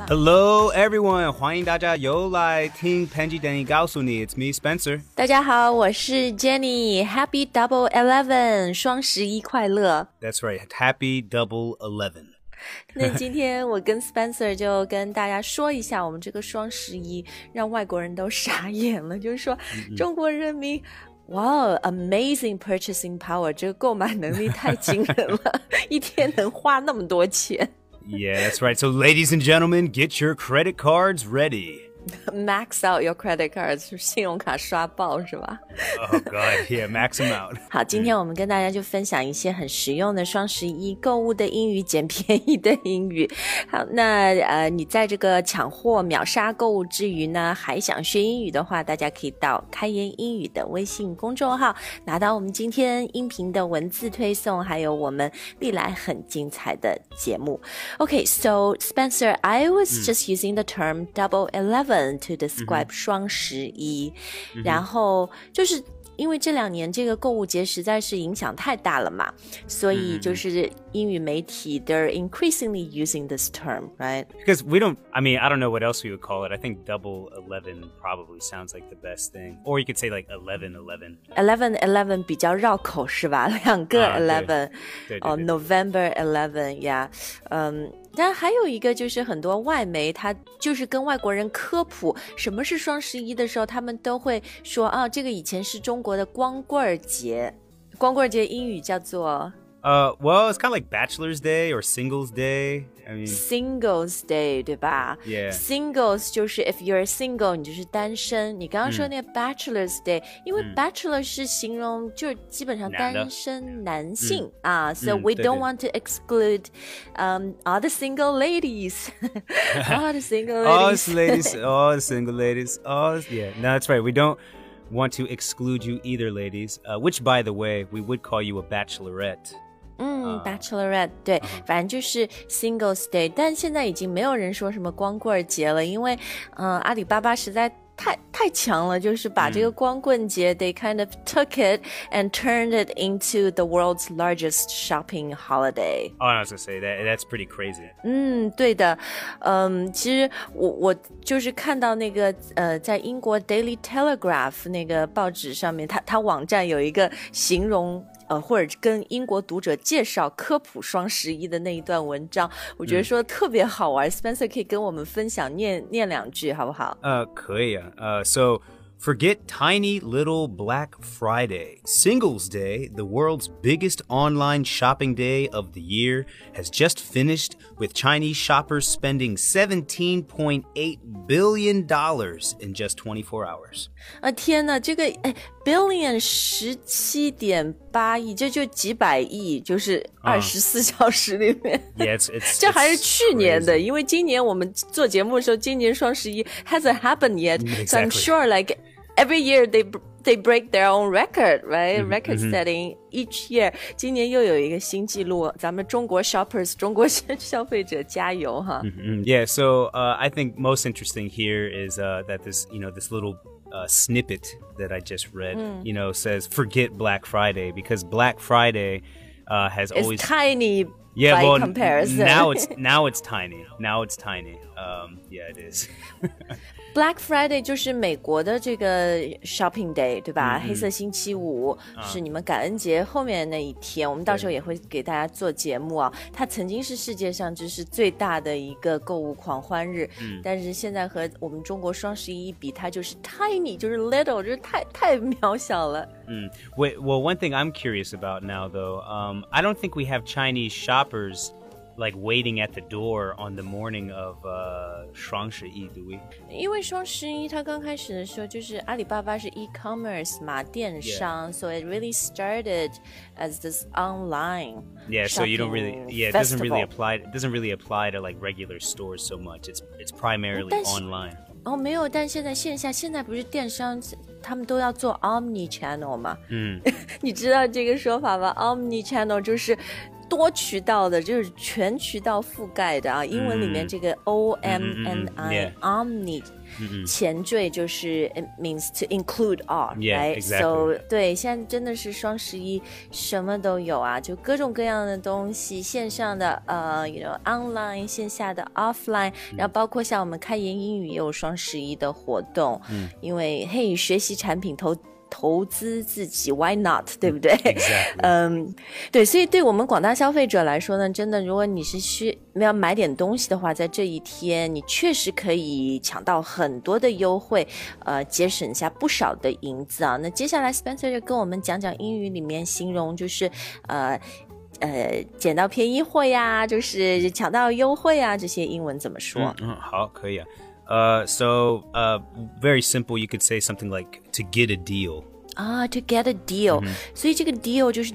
Hello everyone， 欢迎大家又来听潘吉等你告诉你 ，It's me Spencer。 大家好，我是 Jenny。Happy Double 11，双11快乐。 That's right, Happy Double 11。 那今天我跟 Spencer 就跟大家说一下，我们这个双11让外国人都傻眼了，就是说中国人民。哇、amazing purchasing power， 这个购买能力太惊人了，一天能花那么多钱。 Yeah, that's right. So ladies and gentlemen, get your credit cards ready.Max out your credit cards， 信用卡刷爆是吧？ Oh God, yeah, max them out. 好，今天我们跟大家就分享一些很实用的双11购物的英语，捡便宜的英语。好，那你在这个抢货秒杀购物之余呢，还想学英语的话，大家可以到开言英语的微信公众号拿到我们今天音频的文字推送，还有我们历来很精彩的节目。Okay, so Spencer, I was just using the term Double 11 to describe 双11，然后就是因为这2年这个购物节实在是影响太大了嘛，所以就是英语媒体 they're increasingly using this term, right? Because we don't, I mean, I don't know what else we would call it. I think Double 11 probably sounds like the best thing. Or you could say like 11-11. 11-11 比较绕口是吧？两个 11， 对 November 11 yeah， 但还有一个就是很多外媒他就是跟外国人科普什么是双11的时候，他们都会说啊，这个以前是中国的光棍节，光棍节英语叫做 well, it's kind of like Bachelor's Day or Singles Day. I mean, Singles Day 对吧 Yeah. Singles 就是 if you're single 你就是单身，你刚刚说那个 Bachelor's Day，因为 Bachelor 是形容就是基本上单身男性啊，so we don't want to exclude all the single ladies all the single ladies all the single ladies, yeah, no, that's right, we don't want to exclude you either, ladies, which by the way, we would call you a bachelorette. Bachelorette 对，反正就是 Singles Day， 但现在已经没有人说什么光棍节了，因为阿里巴巴实在太强了，就是把这个光棍节they kind of took it and turned it into the world's largest shopping holiday. Oh, I was gonna say that's pretty crazy. 对的，其实我就是看到那个在英国 Daily Telegraph 那个报纸上面，它网站有一个形容或者跟英国读者介绍科普双11的那一段文章，我觉得说特别好玩。Spencer 可以跟我们分享念2句好不好？ 可以啊。So forget tiny little Black Friday. Singles Day, the world's biggest online shopping day of the year, has just finished with Chinese shoppers spending $17.8 billion in just 24 hours. 天哪，这个billion 17.8亿，这就几百亿，就是24小时里面。 Yeah, it's 这还是去年的， crazy. 因为今年我们做节目的时候，今年双11 hasn't happened yet. Exactly. So I'm sure like every year they break their own record, right? Record setting each year. 今年又有一个新纪录，咱们中国 shoppers 中国消费者加油哈。 Yeah, so I think most interesting here is that this little snippet that I just read, says forget Black Friday because Black Friday has It's always tiny yeah, by well, comparison. now it's tiny. Yeah, it is. Black Friday 就是美国的这个 shopping day 对吧？黑色星期五是你们感恩节后面那一天，我们到时候也会给大家做节目啊。它曾经是世界上就是最大的一个购物狂欢日，但是现在和我们中国双11比，它就是 tiny， 就是 little， 就是太渺小了。 Wait, well, one thing I'm curious about now, though, I don't think we have Chinese shoppers like waiting at the door on the morning of 双11, do we? 因为双11它刚开始的时候就是阿里巴巴是 e-commerce 嘛，电商 so it really started as this online Yeah, so you don't really, it doesn't really apply to like regular stores so much. It's primarily online. 没有，但现在不是电商他们都要做 omni channel 嘛？你知道这个说法吗？ omni channel 就是多渠道的，就是全渠道覆盖的啊。英文里面这个 OMNI omni 前缀就是 it means to include all, right? So 对，现在真的是双11什么都有啊，就各种各样的东西，线上的online 线下的 offline，然后包括像我们开言英语也有双11的活动，因为嘿学习产品投资自己 why not 对不对 Exactly. 对，所以对我们广大消费者来说呢，真的如果你是要买点东西的话，在这一天你确实可以抢到很多的优惠，节省下不少的银子啊。那接下来 Spencer 就跟我们讲讲英语里面形容就是捡到便宜货呀，就是抢到优惠啊，这些英文怎么说？ 好，可以啊。So very simple, you could say something like to get a deal. To get a deal. 所以这个 deal 就是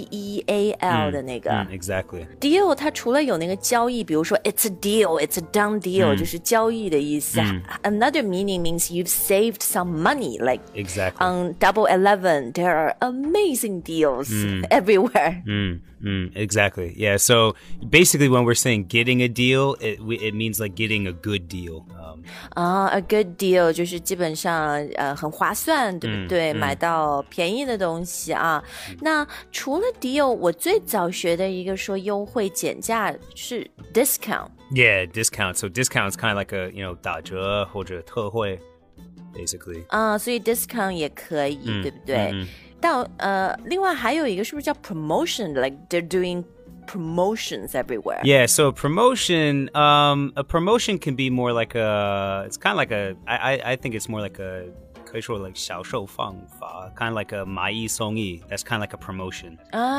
D-E-A-L 的那个。 Exactly. Deal 它除了有那个交易，比如说 it's a deal, it's a done deal, 就是交易的意思。Another meaning means you've saved some money, like Exactly. on Double 11, there are amazing deals everywhere. Exactly. Yeah. So basically, when we're saying getting a deal, it means like getting a good deal. A good deal 就是基本上很划算，对不对？买到便宜的东西啊。那除了 deal， 我最早学的一个说优惠减价是 discount. Yeah, discount. So discount is kind of like a 打折或者特惠 basically. 所以 discount 也可以，对不对？但另外还有一个是不是叫 promotion? Like they're doing promotions everywhere. Yeah, so a promotion can be more like it's kind of like I think it's more like可以说 like 销售方法 kind of like a 买一送一 that's kind of like a promotion.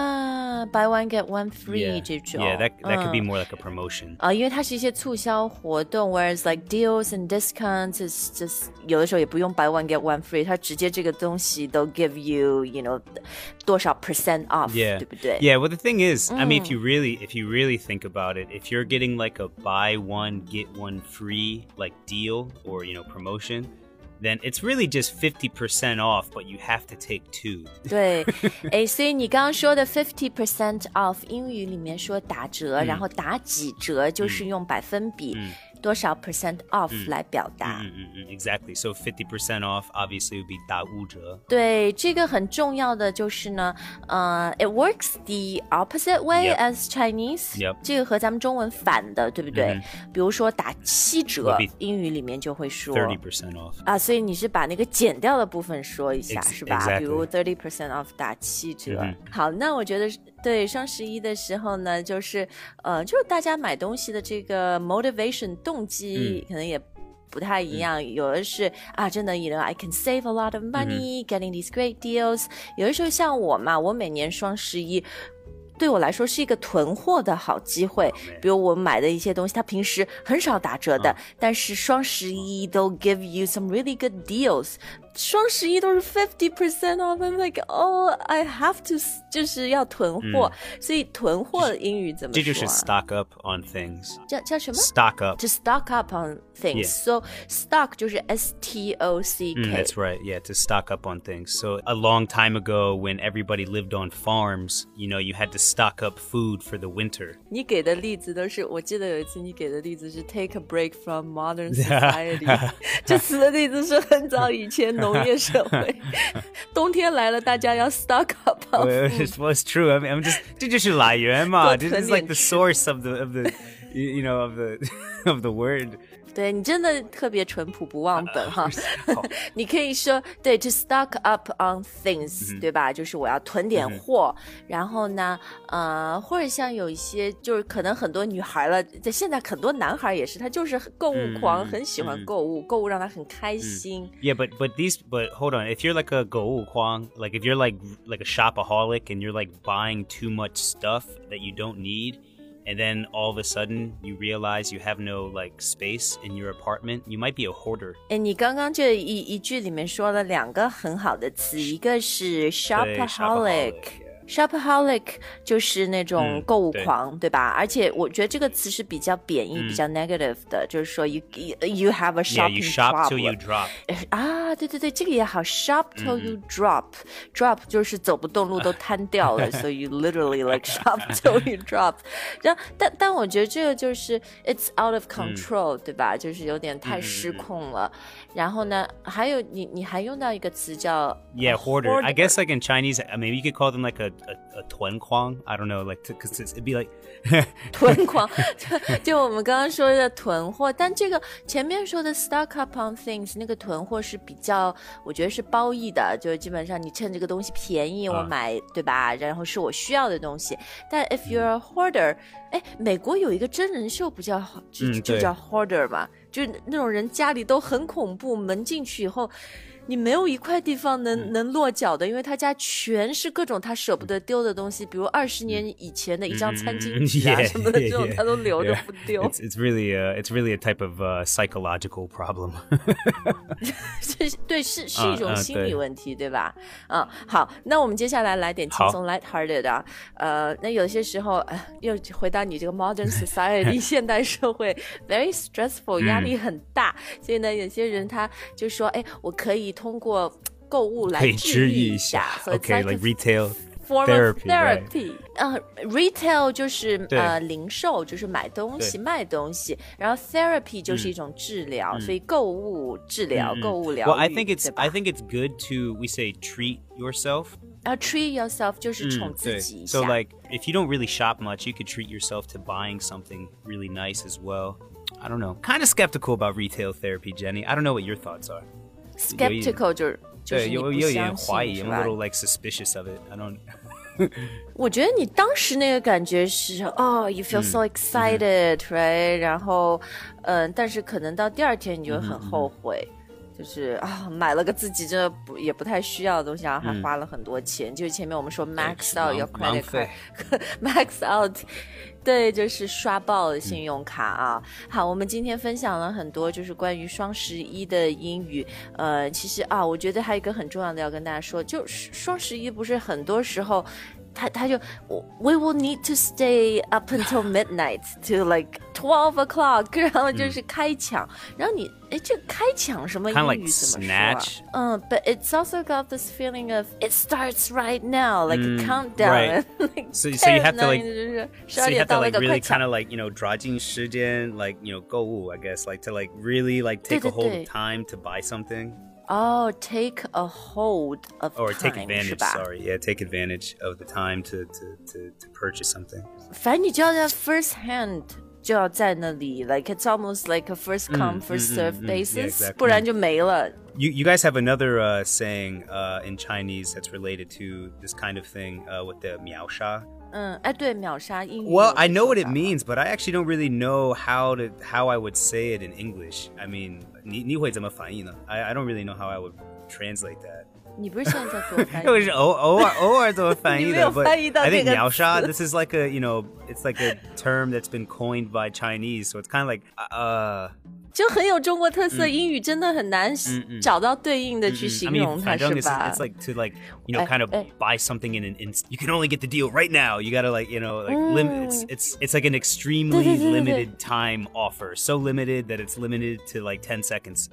Buy one get one free 这种。 Yeah, that could be more like a promotion. 因为它是一些促销活动 whereas like deals and discounts is just 有的时候也不用 buy one get one free 它直接这个东西都 give you多少 percent off 对不对 Yeah, well the thing is I mean if you really think about it, if you're getting like a buy one get one free like deal or promotion, then it's really just 50% off, but you have to take two. 对，所以你刚刚说的 50% off 英语里面说打折，然后打几折就是用百分比多少 percent off 来表达。 Exactly. So 50% off obviously would be 打五折。 对，这个很重要的就是呢，it works the opposite way as Chinese. 这个和咱们中文反的，对不对？比如说打7折，英语里面就会说 30% off. 所以你是把那个减掉的部分说一下，是吧？ Exactly. 比如 30% off 打7折。好，那我觉得对双11的时候呢，就是大家买东西的这个 motivation 动机可能也不太一样，有的是真的I can save a lot of money getting these great deals。有的时候像我嘛，我每年双11对我来说是一个囤货的好机会，比如我买的一些东西它平时很少打折的，但是双11都 give you some really good deals。双11都是 50% off. I'm like, I have to 就是要囤货，所以囤货的英语怎么说？ 这就是 stock up on things. 叫什么 ？Stock up. To stock up on things. So stock 就是 S-T-O-C-K. That's right. Yeah, to stock up on things. So a long time ago, when everybody lived on farms, you had to stock up food for the winter. 你给的例子都是，我记得有一次你给的例子是 take a break from modern society. 这次的例子是很早以前。农业社会，冬天来了，大家要 stock up on food. Well, it's true. I mean, 这就是来源嘛。This is like the source of the of the word. 对，你真的特别淳朴不忘本哈。你可以说对 to stock up on things，对吧？就是我要囤点货，然后呢，或者像有一些就是可能很多女孩了，在现在很多男孩也是，他就是购物狂，很喜欢购物，购物让他很开心。 Yeah, but hold on. If you're like a 购物狂, like if you're like a shopaholic and you're like buying too much stuff that you don't need.And then all of a sudden you realize you have no like space in your apartment. You might be a hoarder. 你刚刚这一句里面说了2个很好的词，一个是 shopaholic. shopaholic 就是那种购物狂，对吧？而且我觉得这个词是比较贬义、比较 negative 的，就是说 you have a shopping you shop problem. till you drop. 啊，对对对，这个也好 ，shop till you drop 就是走不动路都瘫掉了，so you literally like shop till you drop. 然后但我觉得这个就是 it's out of control，对吧？就是有点太失控了。然后呢，还有你还用到一个词叫 hoarder. I guess like in Chinese, maybe you could call them like a 囤狂. I don't know, like because it'd be like 囤狂，就我们刚刚说的囤货，但这个前面说的 stock up on things 那个囤货是比较，我觉得是褒义的，就基本上你趁这个东西便宜我买，对吧？然后是我需要的东西。但 if you're a hoarder， 美国有一个真人秀不叫就叫 hoarder 嘛，就那种人家里都很恐怖，门进去以后。你没有一块地方能落脚的，因为他家全是各种他舍不得丢的东西，比如20年以前的一张餐巾纸啊什么的，这种他都留着不丢。 It's really a type of psychological problem. 对，是一种心理问题，对吧？好，那我们接下来来点轻松 light-hearted 啊。那有些时候又回到你这个 modern society 现代社会 very stressful 压力很大，所以呢，有些人他就说，我可以通过购物来治愈一下。 Okay, like retail form of therapy. Right? Retail 就是零售，就是买东西、卖东西，然后 therapy 就是一种治疗，所以购物治疗、购物疗愈。 Well, I think it's good to we say treat yourself. Treat yourself 就是宠自己一下。 So like if you don't really shop much, you could treat yourself to buying something really nice as well. I don't know. Kind of skeptical about retail therapy, Jenny. I don't know what your thoughts are. Skeptical 就是你不相信，是吧？ I'm a little like suspicious of it. I don't. 我觉得你当时那个感觉是you feel so excited, right? 然后但是可能到第二天你就很后悔。就是买了个自己真的也不太需要的东西，然后还花了很多钱。就是前面我们说 max out your credit card max out， 对，就是刷爆了信用卡啊。好，我们今天分享了很多就是关于双11的英语。其实我觉得还有一个很重要的要跟大家说，就是双11不是很多时候他就 we will need to stay up until midnight to like 12 o'clock， 然后就是开抢，然后你这开抢什么英语怎么说？But it's also got this feeling of it starts right now, like a countdown. Right. like, so you have to like really kind of like抓紧时间 like 购物 I guess like to like really like take a hold of time to buy something. Take a hold of time, or take advantage. Sorry, yeah, take advantage of the time to purchase something. 反正你就要在 first hand 就要在那里 like it's almost like a first come first serve basis, exactly. 不然就没了。 You guys have another saying in Chinese that's related to this kind of thing with the 秒杀。 对，秒杀英语。 Well, I know what it means, but I actually don't really know how I would say it in English. I mean, 你会怎么翻译呢? I don't really know how I would translate that. 你不是现在做翻译？ 我是偶尔怎么翻译的？ but I think 秒杀 this is like a it's like a term that's been coined by Chinese, so it's kind of like 就很有中国特色，英语真的很难找到对应的去形容它，是吧？ It's like to like kind of buy something in an instant. You can only get the deal right now. You gotta like like limit. It's like an extremely limited time offer. So limited that it's limited to like 10 seconds.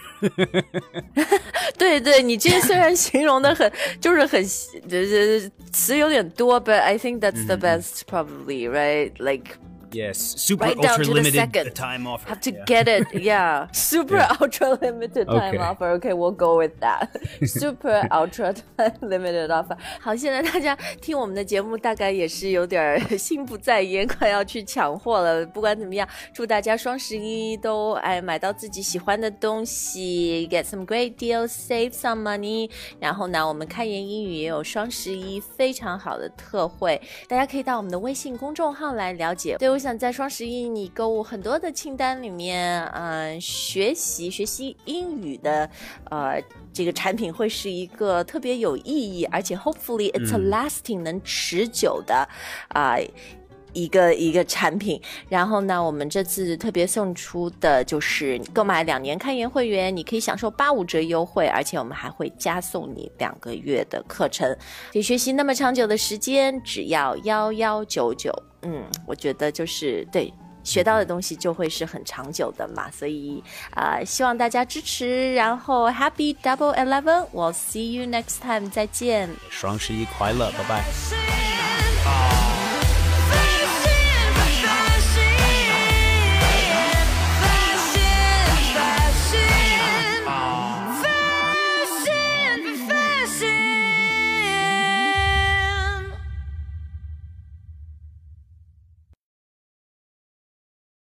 对，你这虽然形容的很就是很词有点多 ，but I think that's the best probably, right? Like. Yes, super right ultra limited time offer. Have to get it, yeah. Super ultra limited time offer. Okay, we'll go with that. Super ultra limited offer. 好，现在大家听我们的节目，大概也是有点心不在焉，快要去抢货了。不管怎么样，祝大家双11都买到自己喜欢的东西 ，get some great deals, save some money。然后呢，我们开言英语也有双11非常好的特惠，大家可以到我们的微信公众号来了解。对，我想在双11你购物很多的清单里面，学习英语的这个产品会是一个特别有意义，而且 hopefully it's a lasting 能持久的一个产品。然后呢，我们这次特别送出的就是购买2年开源会员，你可以享受85折优惠，而且我们还会加送你2个月的课程，可以学习那么长久的时间，只要1199。我觉得就是对。学到的东西就会是很长久的嘛，所以希望大家支持，然后 Happy Double 11 We'll see you next time， 再见， 双11快乐，拜拜。